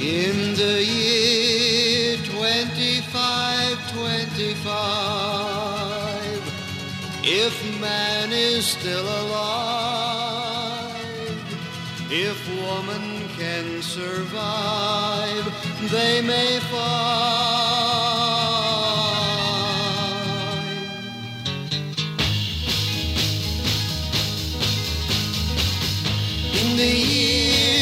In the year 2525, if man is still alive, if woman can survive, they may find. In the year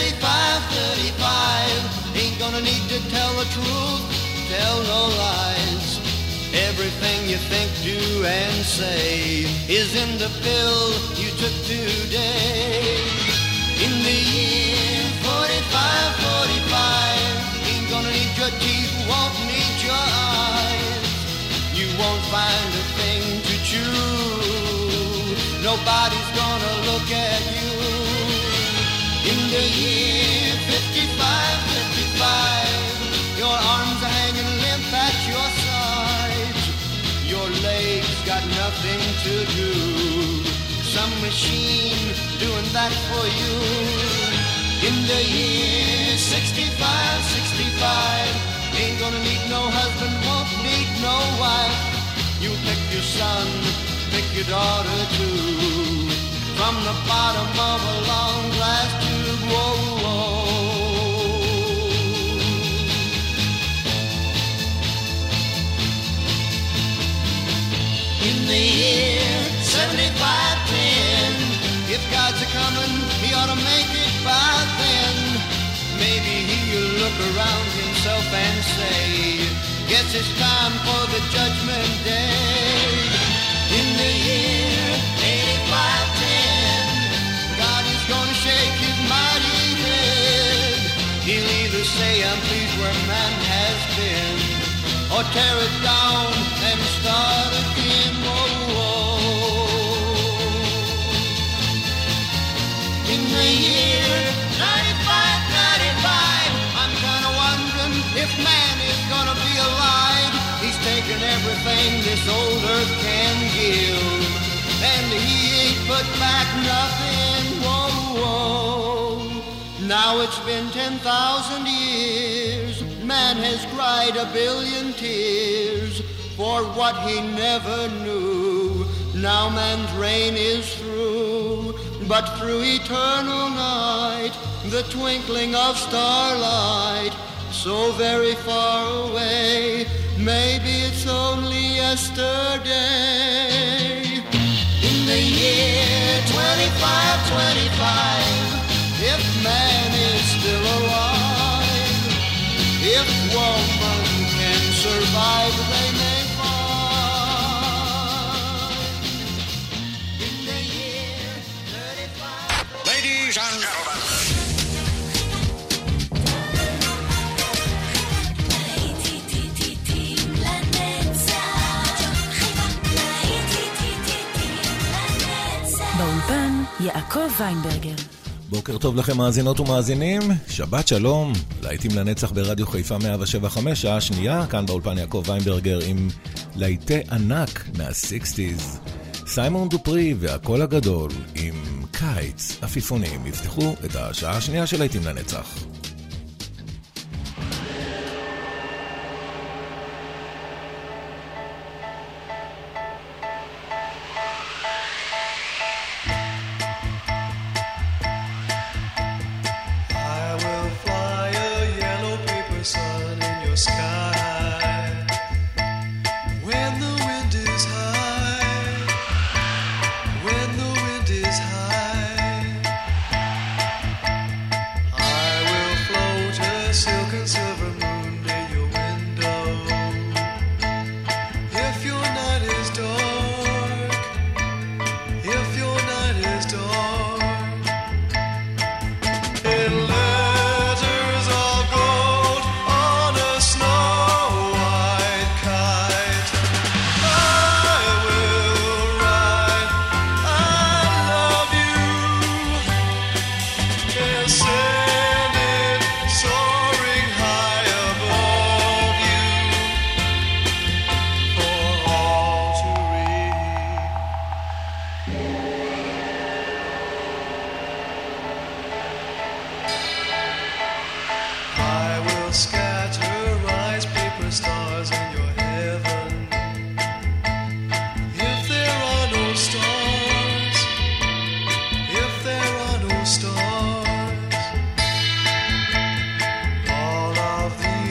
3535, ain't gonna need to tell the truth, tell no lies. Everything you think, do, and say is in the pill you took today. In the year 4545, ain't gonna need your teeth, won't need your eyes. You won't find a thing to chew, nobody's gonna look at you. In the year 5555, your arms are hanging limp at your sides. Your legs got nothing to do, some machine doing that for you. In the year 6565, ain't gonna need no husband, won't need no wife. You pick your son, pick your daughter too, from the bottom of a long glass tube. Whoa, whoa. In the year 7510, if God's a-comin', he ought to make it by then. Maybe he'll look around himself and say, guess it's time for the judgment day. In the year 8510, God is gonna shake his mighty head. He'll either say, I'm pleased where man has been, or tear it down and start again. Whoa, whoa. In the year 9595, I'm kinda wondering if man is gonna be alive. He's taken everything this old earth can give, and he ain't put back nothing. Whoa, whoa. Now it's been 10,000 years, man has cried a billion tears for what he never knew. Now man's reign is through, but through eternal night, the twinkling of starlight, so very far away, maybe it's only yesterday. In the year 2525, if man is still alive, if woman can survive, they may find. In the year 35... Ladies and gentlemen. באולפן יעקב ויינברגר. בוקר טוב לכם מאזינות ומאזינים, שבת שלום, להיטים לנצח ברדיו חיפה 107.5, שעה שנייה, כאן באולפן יעקב ויינברגר עם להיטי ענק מה-60s. סיימון דופרי והקול הגדול עם קיץ, עפיפונים, יפתחו את השעה השנייה של להיטים לנצח. I will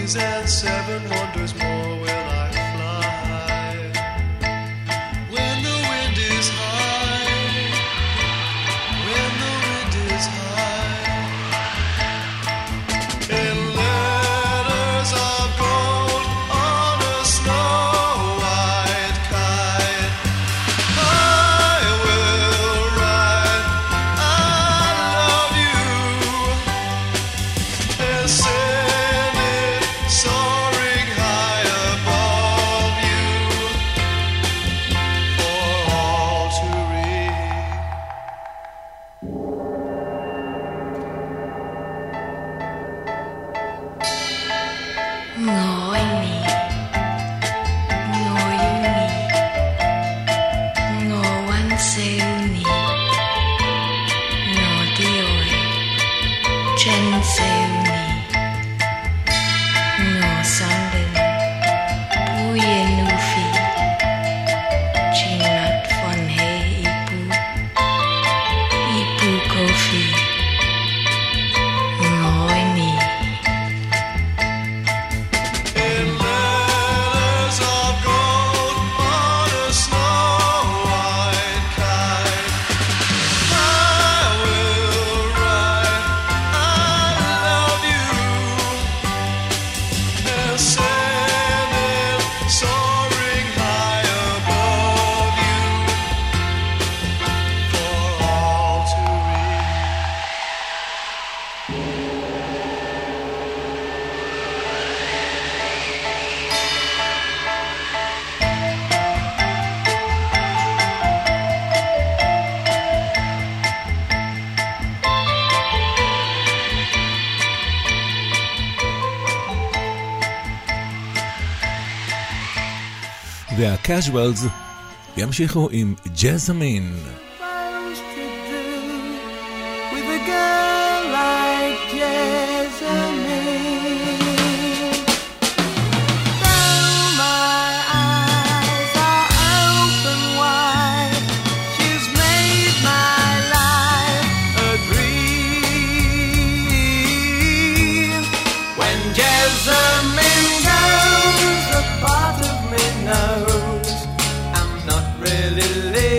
seas and 7 wonders more will I fly. When the wind is high, when the wind is high, in letters of gold on a snow-white kite, I will write, I love you, and send it soaring high above you for all to read. Ngồi nì, ngồi yêu nì, ngồi quan siêu nì, ngồi đi ơi, chân siêu nì, ngồi sang đường, bùi nu phi, chỉ ngắt phần hệ ipu coffee, ngồi nì. In letters of gold on a snow-white kite, I will write, I love you, and send it soaring high above you for all to read. והקאז'ואלס ימשיכו עם ג'זמין. Supposed to do with a girl like Jessamine? Though my eyes are open wide, she's made my life a dream. When Jessamine goes, a part of me knows I'm not really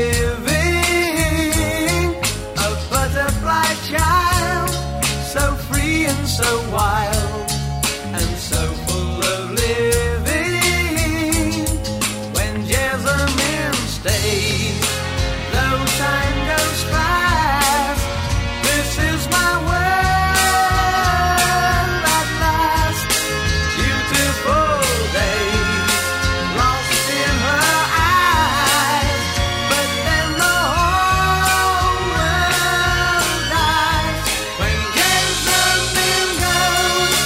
living. A butterfly child, so free and so wild, and so full of living. When Jessamine stays, though time goes fast, this is my world at last. Beautiful days lost in her eyes, but then the whole world dies. When Jessamine goes,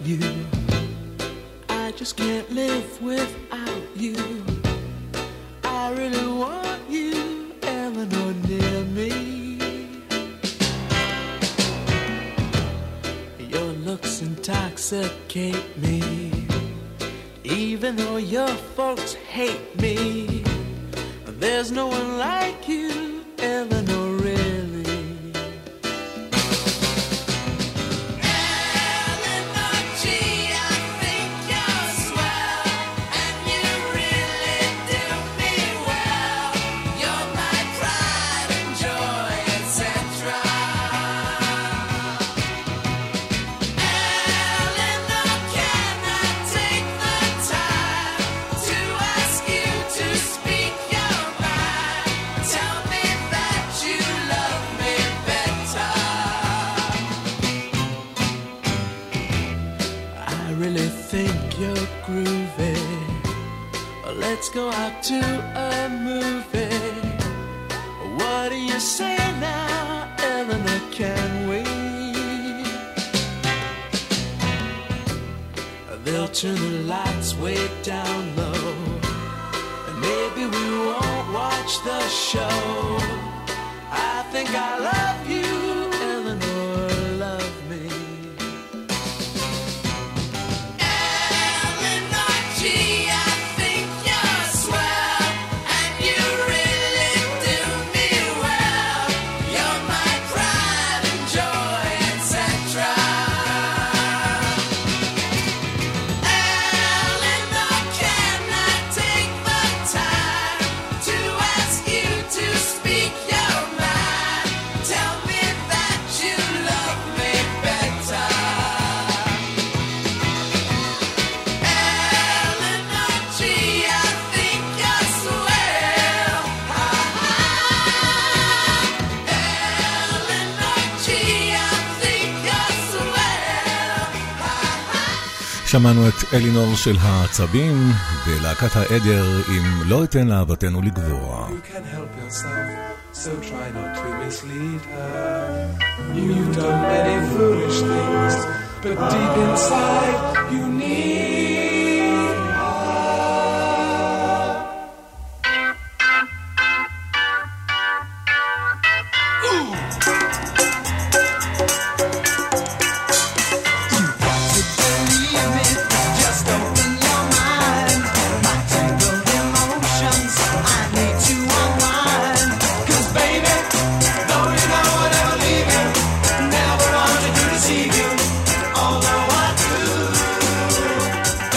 you. I just can't live without you. I really want you, Eleanor, near me. Your looks intoxicate me, even though your folks hate me. There's no one like you, Eleanor, really. Eleanor, gee, I think you're swell, and you really do me well. You're my pride and joy, etc. Eleanor, can I take the time to ask you to speak your mind? Tell me that you love me better. I really think you're groovy. Let's go out to a movie. What do you say now, Eleanor, can we? They'll turn the lights way down low, and maybe we won't watch the show. I think I love you, Eleanor, love me. Eleanor, gee, I think you're swell, and you really do me well. You're my pride and joy, etc. Eleanor, can I take the time to ask you to speak your mind? Tell me that you love me better. Eleanor, gee, I think you're swell. Eleanor, gee, I think you're swell. שמענו את אלינור של העצבים ולהקת העדר עם לא אתן לאהבתנו לגבוה. You can help yourself, so try not to mislead her. You've done many foolish things, but deep inside you need her. You've got to believe it, just open your mind. My tangled emotions, I need to unwind. 'Cause baby, though you know I'll never leave you, never wanted to deceive you, although I do.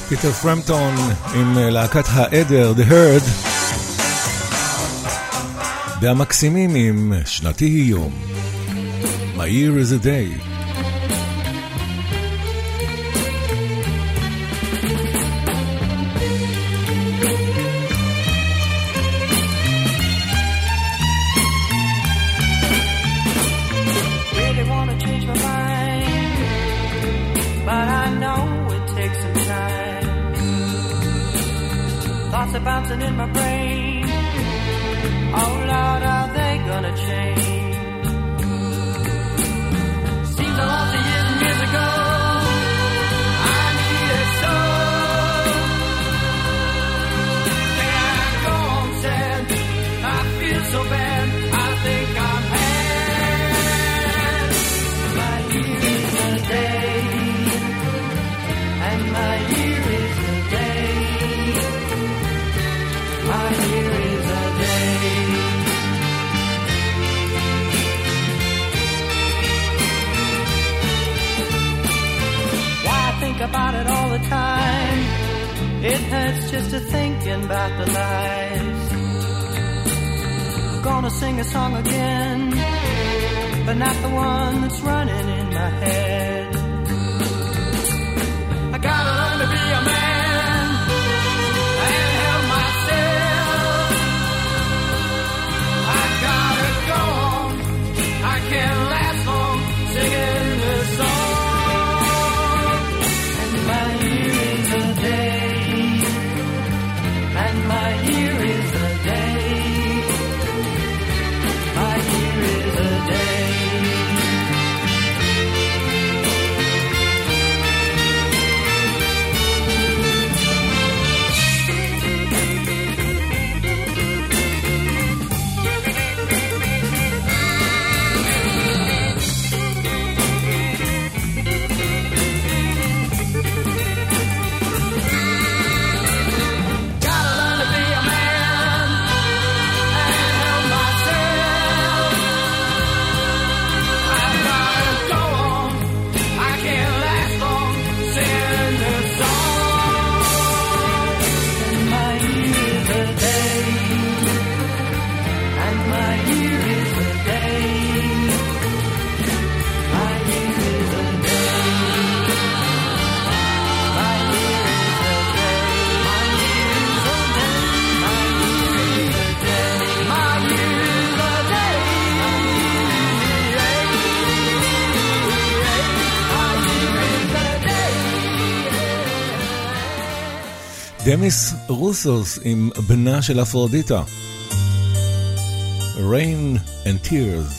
פיטר פרמפטון עם להקת העדר, The Herd, והמקסימים עם שנתי היא יום, My Year is a Day. Thoughts are bouncing in my brain. Oh Lord, are they gonna change? Seems a lot of years and years ago I needed so. Can I go on sad? I feel so bad. I think I'm had. My year is a day, and my year is a day. My year is a day. Why I think about it all the time. It hurts just to thinking about the lies. I'm gonna sing a song again, but not the one that's running in my head. I gotta learn to be a man and help myself. I gotta go on. I can't last long singing this song. And my year is a day. And my year is a day. My year is a day. דמיס רוסוס עם בנה של אפרודיטה, Rain and Tears.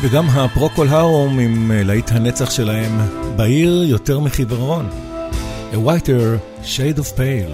וגם הפרוקול האום עם להיט הנצח שלהם בעיר יותר מחיוורון. A Whiter Shade of Pale.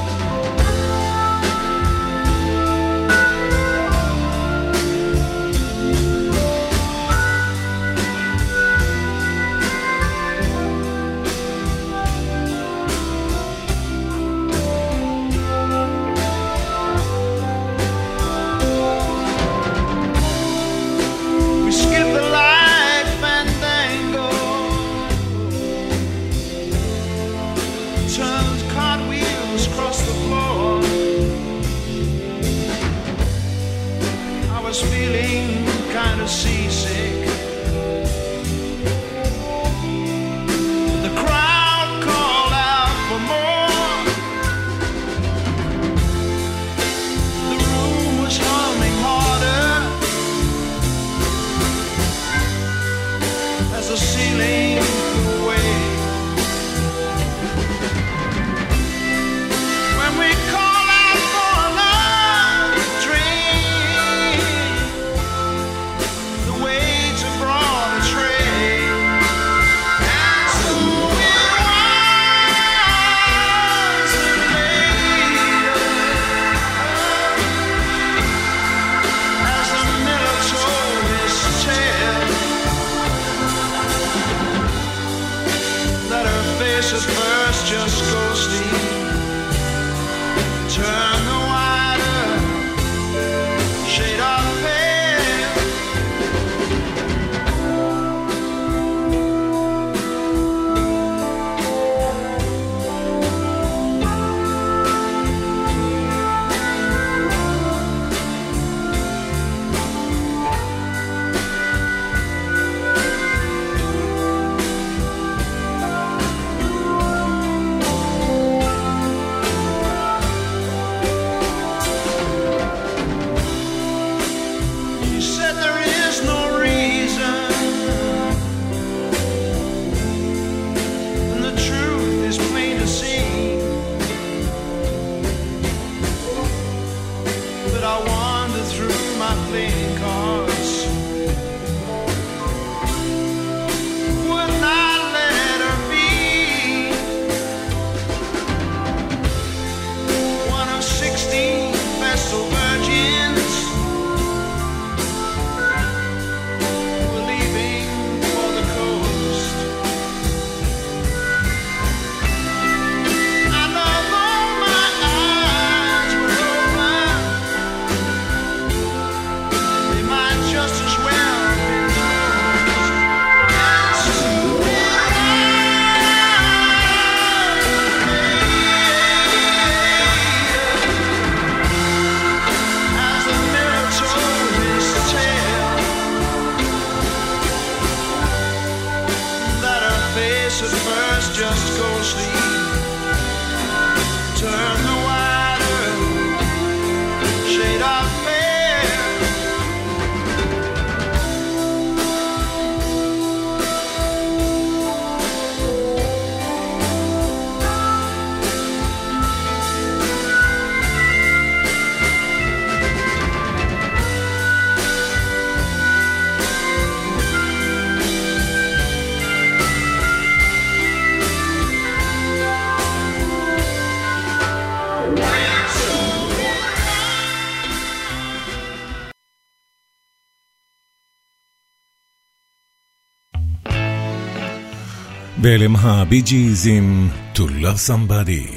ואלם הבי ג'יז עם To Love Somebody.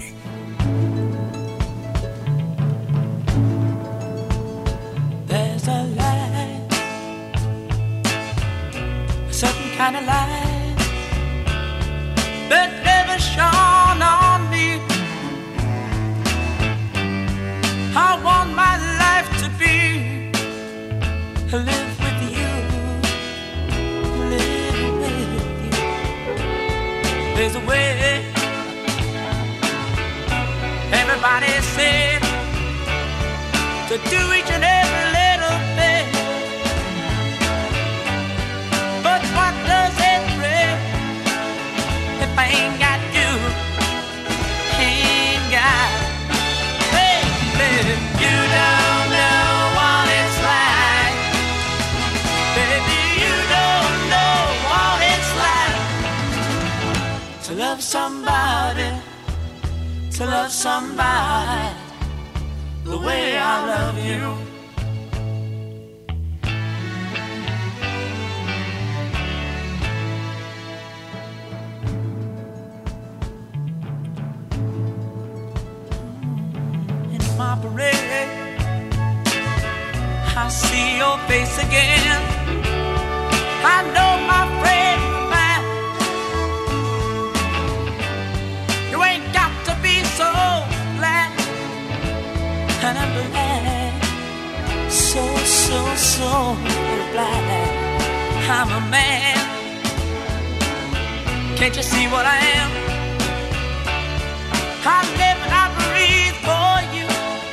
There's a light, a certain kind of light that never shone on me. I want my life to be live with you, live with you. There's a way. Everybody said to do each and every little thing, but what does it bring if I ain't got you? Ain't got, baby, you don't know what it's like, baby, you love somebody, to love somebody the way I love you. In my parade, I see your face again. I know my friend, man, you ain't got to be so glad. And I'm glad, so glad I'm a man. Can't you see what I am? I live and I breathe for you.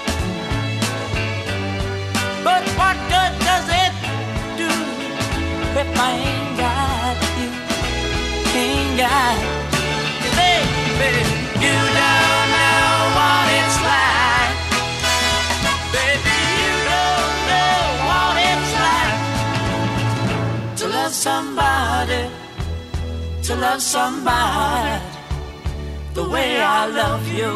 But what good does it do if I ain't got you? Ain't got you, baby. You don't know what it's like. Baby, you don't know what it's like to love somebody, to love somebody the way I love you.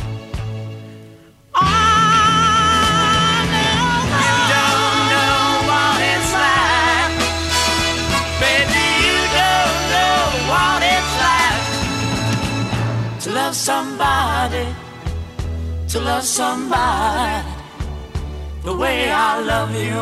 To love somebody, to love somebody the way I love you.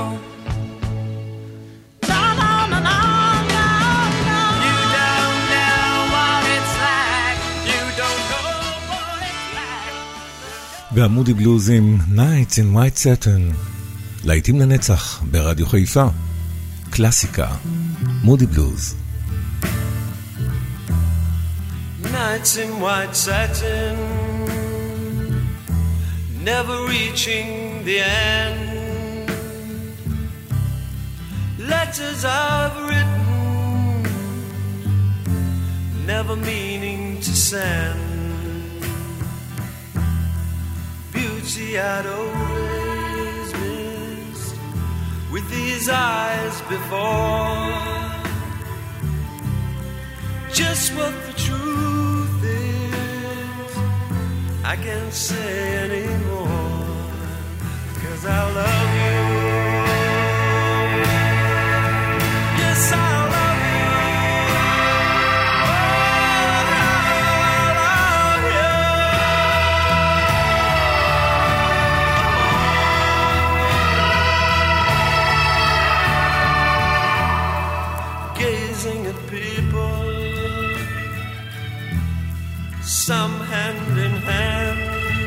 No, no, no, no, no, no. You don't know what it's like. You don't know what it's like. והמודי בלוזים, Nights in White Satin, להיטים לנצח ברדיו חיפה. קלאסיקה, מודי בלוז. Nights in white satin, never reaching the end. Letters I've written, never meaning to send. Beauty I'd always missed with these eyes before. Just what the truth is, I can't say anymore, 'cause I love you. Yes, I love you. Oh, I love you. Gazing at people, some hand in hand,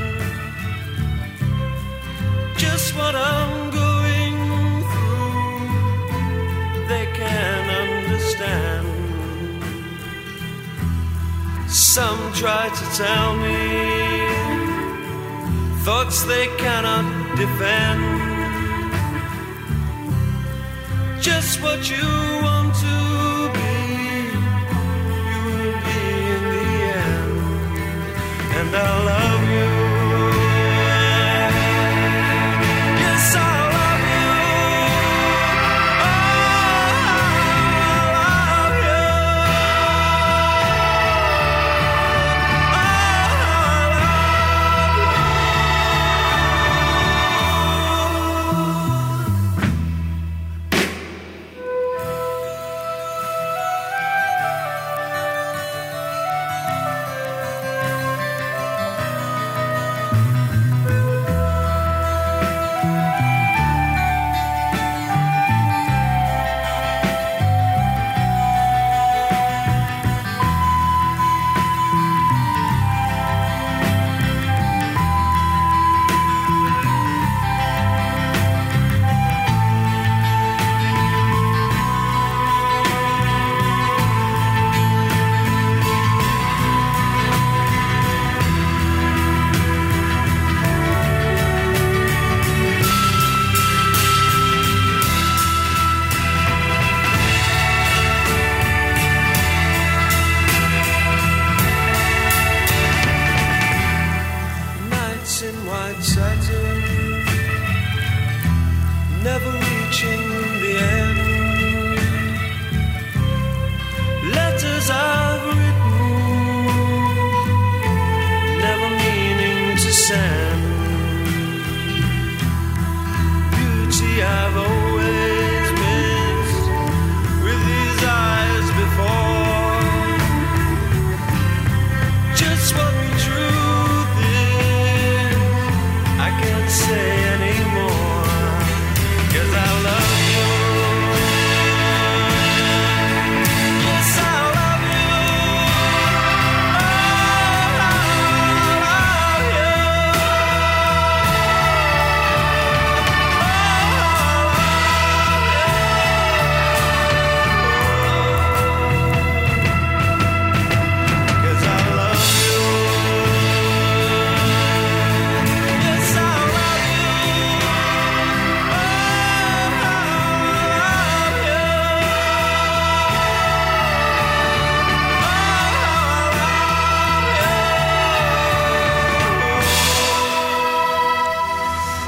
just what I'm going through, they can understand. Some try to tell me thoughts they cannot defend. Just what you want to be, you will be in the end. And I love you. Yes, I love you. Oh, I love you. Oh, I love you.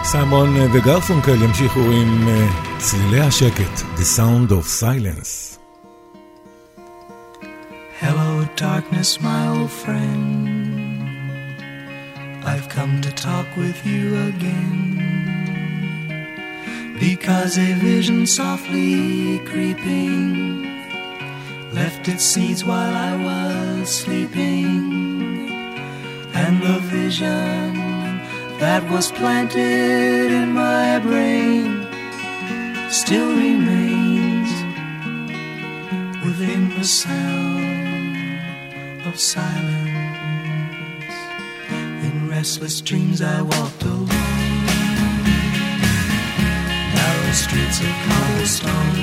סיימון וגרפונקל ימשיכו עם צלילי השקט, The Sound of Silence. Hello, darkness, my old friend. I've come to talk with you again, because a vision softly creeping left its seeds while I was sleeping, and the vision that was planted in my brain still remains within the sound of silence. In restless dreams I walked alone, narrow streets of cobblestone,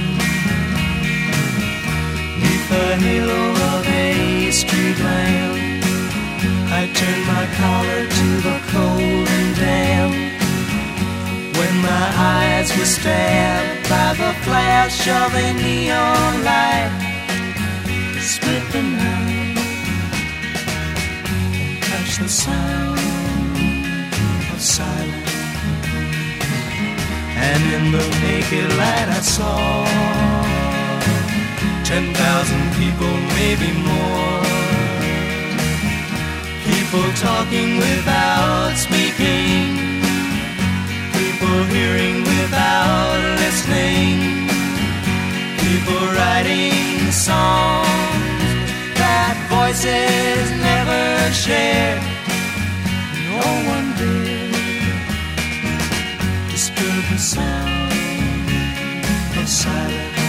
neath the halo of a street lamp. I turned my collar to the cold and damp, when my eyes were stabbed by the flash of a neon light. Split the night and touch the sound of silence. And in the naked light I saw 10,000 people, maybe more. People talking without speaking, people hearing without listening, people writing songs that voices never share. No one did disturb the sound of silence.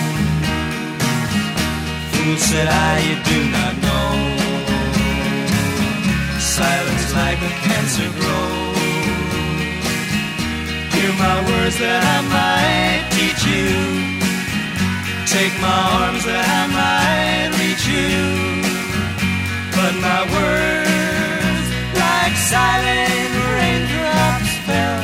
Fool, said I, you do not know, silence like a cancer grows. Hear my words that I might teach you, take my arms that I might reach you, but my words like silent raindrops fell,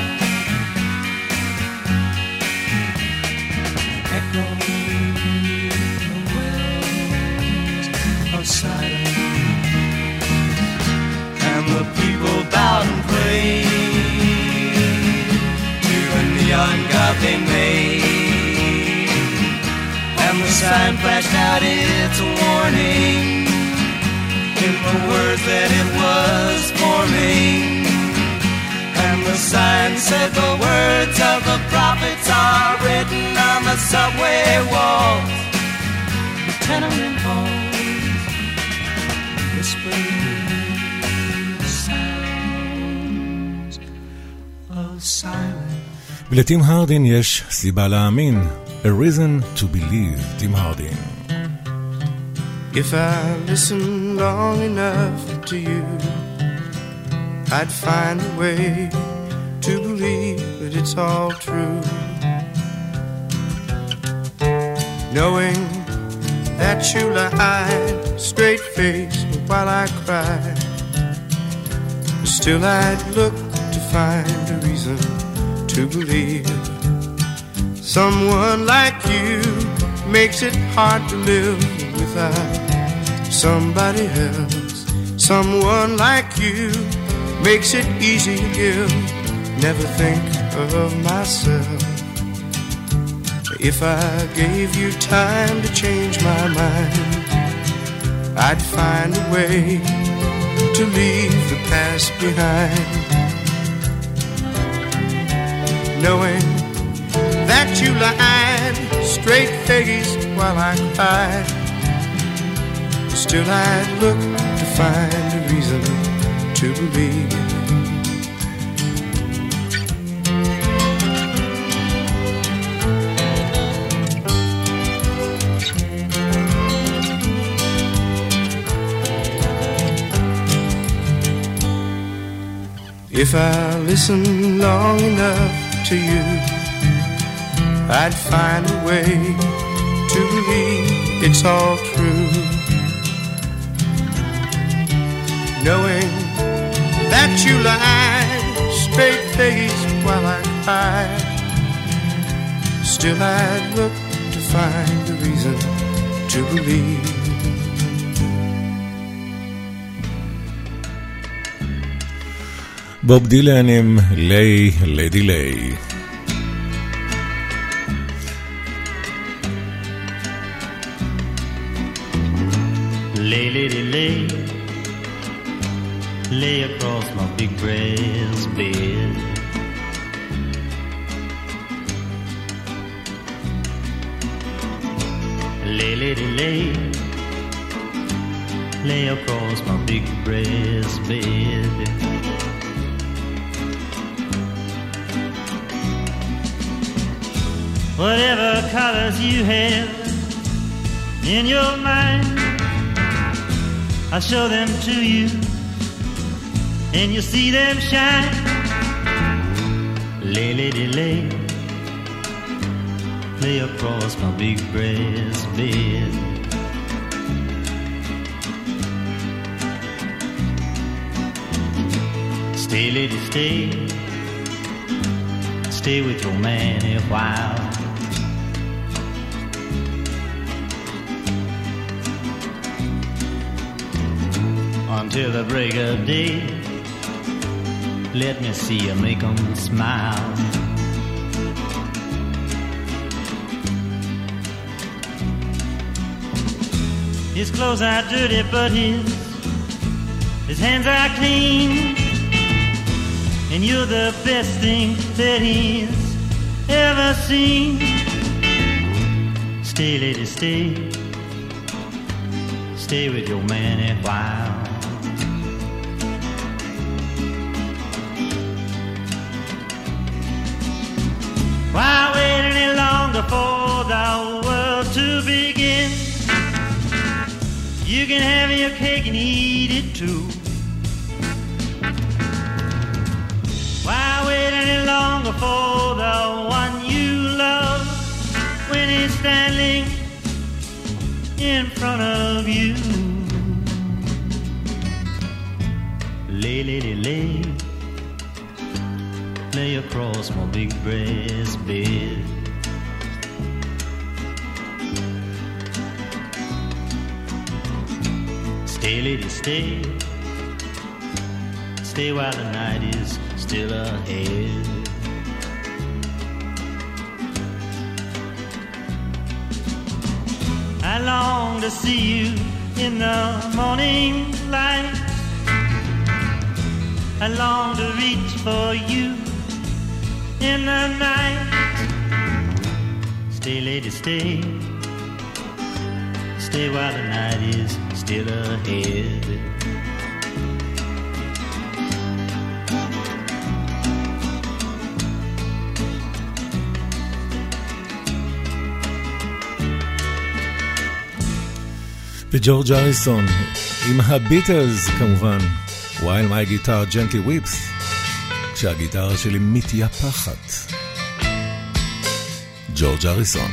echoing the wells of silence. And the people bowed and prayed to a neon god they made, and the sign flashed out its warning in the words that it was forming. And the sign said the words of the prophets are written on the subway walls, the tenement halls, whispering ולטים הרדין יש סיבה להאמין, A Reason to Believe, טים הרדין. If I listen long enough to you, I'd find a way to believe that it's all true, knowing that you lied straight-faced while I cried. Still I'd look to find a reason to believe. Someone like you makes it hard to live without somebody else. Someone like you makes it easy to give. Never think of myself. If I gave you time to change my mind, I'd find a way to leave the past behind, knowing that you lied straight-faced while I cried. Still I'd look to find a reason to believe. If I listen long enough to you, I'd find a way to believe it's all true, knowing that you lied straight-faced while I cried. Still I'd look to find a reason to believe. בוב דילן עם ליי, לדי ליי. Lay, lady, lay, lay across my big brass bed. Lay, lady, lay, lay across my big brass bed. Whatever colors you have in your mind, I'll show them to you, and you'll see them shine. Lay, lady, lay, lay across my big brass bed. Stay, lady, stay, stay with your man a while. Until the break of day, let me see you make 'em smile. His clothes are dirty, but his hands are clean, and you're the best thing that he's ever seen. Stay, lady, stay, stay with your man a while. Why wait any longer for the world to begin? You can have your cake and eat it too. Why wait any longer for the one you love when he's standing in front of you? Lay, lady, lay, lay across my big brass bed. Stay, lady, stay, stay while the night is still ahead. I long to see you in the morning light. I long to reach for you in the night. Stay, lady, stay, stay while the night is still ahead. וג'ורג' אריסון עם הביטלס כמובן, While my guitar gently weeps, כשהגיטרה שלי מתייפחת. ג'ורג' אריסון.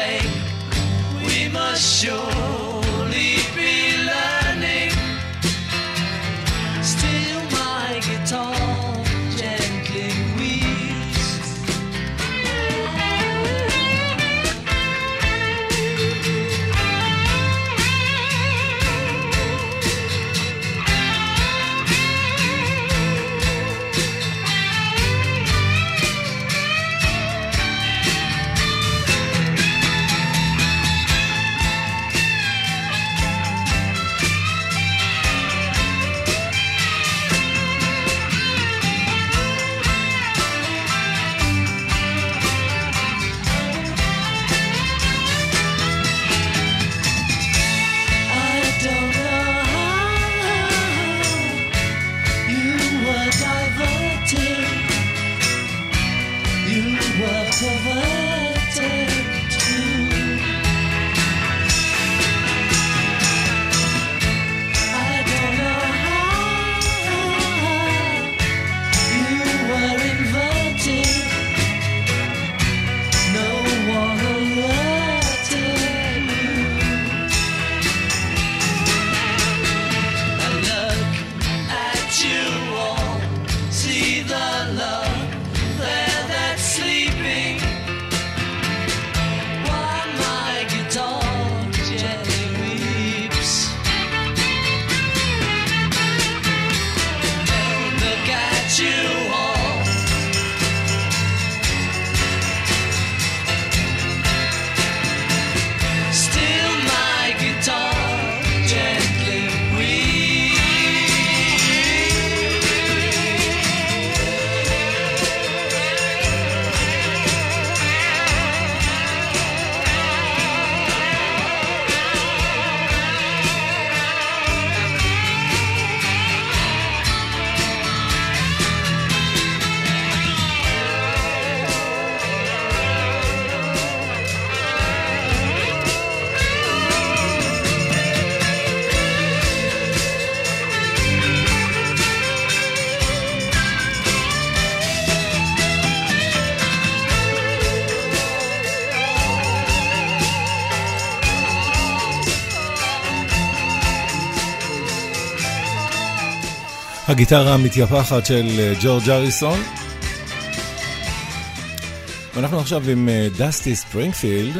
Surely be learning הגיטרה המתייפחת של ג'ורג' אריסון. ואנחנו עכשיו עם דסטי ספרינגפילד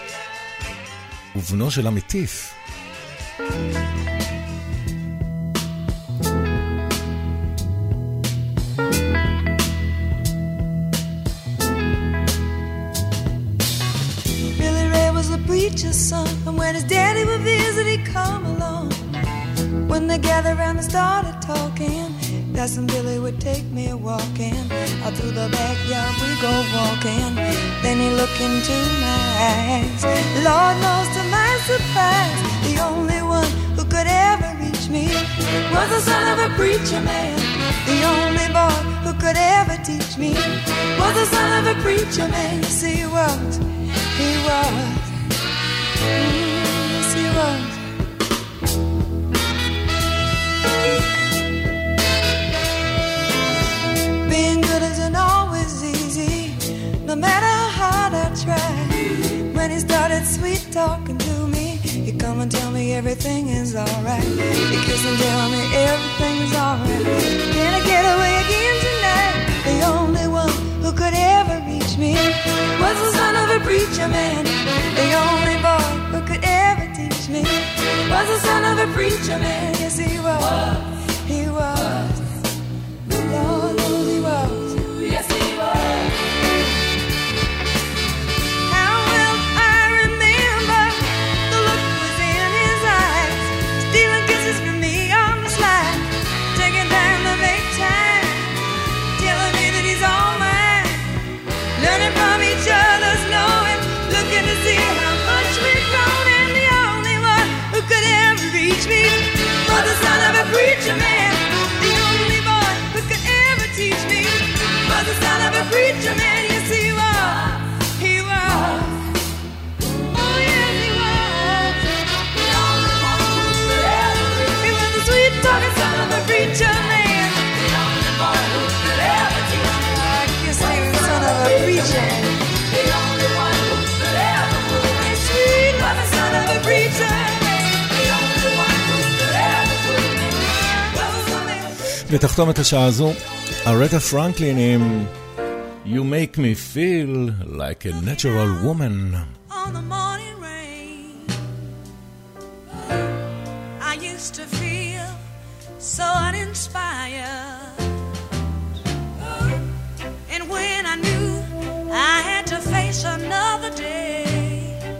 ובנו של המטיף. Billy Ray was a preacher's son, and when his daddy would visit, he'd come along. When they gathered around and started talking, that's when Billy would take me walking. Out through the backyard we go walking. Then he looked into my eyes. Lord knows to my surprise, the only one who could ever reach me was the son of a preacher man. The only boy who could ever teach me was the son of a preacher man. Yes, he was. He was. Yes, he was. Being good isn't always easy, no matter how hard I try. When he started sweet talking to me, he'd come and tell me everything is alright. He'd kiss and tell me everything's alright. Can I get away again tonight? The only one who could ever reach me was the son of a preacher man. The only boy who could ever teach me was the son of a preacher man. Yes, he was. He was. Lord knows he was. Yes, he was. How will I remember the look was in his eyes, stealing kisses from me on the slide, taking time to make time, telling me that he's all mine, learning from each other's knowing, looking to see how much we've grown, and the only one who could ever reach me was the son of a preacher man. The only boy who could ever teach me was the son of a preacher man. Yes, he was. He was. Oh, yes, he was. The only one who could ever reach me. He was the sweet talking son of a preacher man. The only boy who could ever teach me. I guess he was the son of a preacher. The only one who could ever move me. Sweet was the son of a preacher man. The only one who could ever move me. ותחתום את השעה הזו, ארתה פרנקלין עם You Make Me Feel Like a Natural Woman. On the morning rain, I used to feel so uninspired, and when I knew I had to face another day,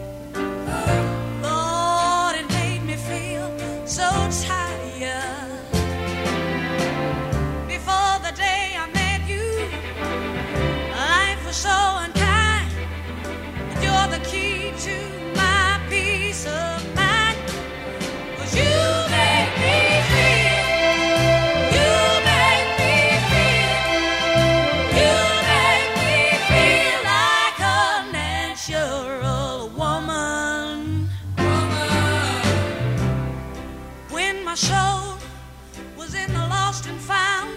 Lord, it made me feel so tired. Before the day I met you, life was so unkind. You're the key to my peace of mind. 'Cause you make me feel, you make me feel, you make me feel like a natural woman. When my soul was in the lost and found,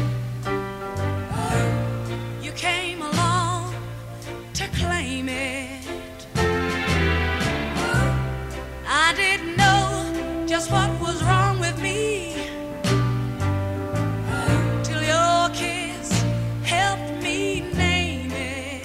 you came along to claim it. I didn't know just what was wrong with me till your kiss helped me name it.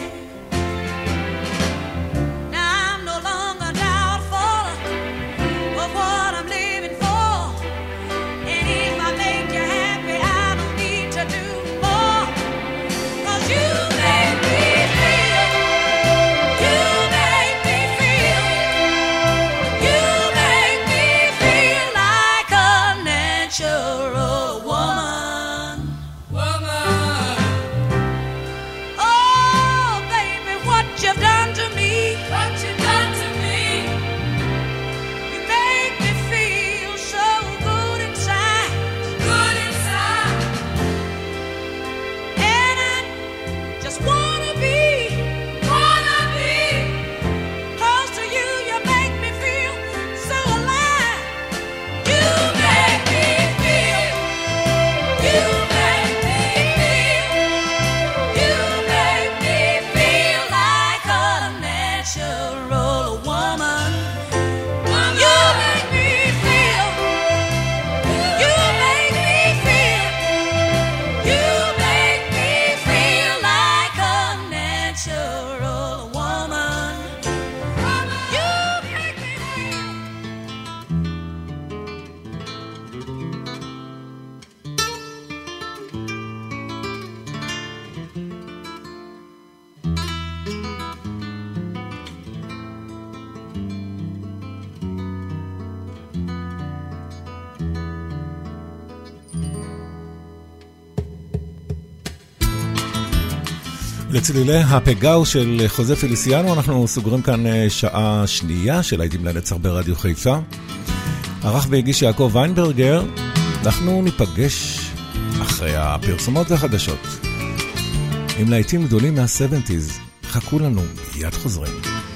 Now I'm no longer doubtful of what I'm living for, and if I make you happy, I don't need to do more. 'Cause you make me feel, you make me feel, you make me feel like לצלילי הפגאו של חוזה פליסיאנו אנחנו סוגרים כאן שעה שנייה של להיטים לנצח ברדיו חיפה. ערך והגיש יעקב ויינברגר. אנחנו ניפגש אחרי הפרסומות והחדשות עם להיטים גדולים מה-70s. חכו לנו, מיד חוזרים.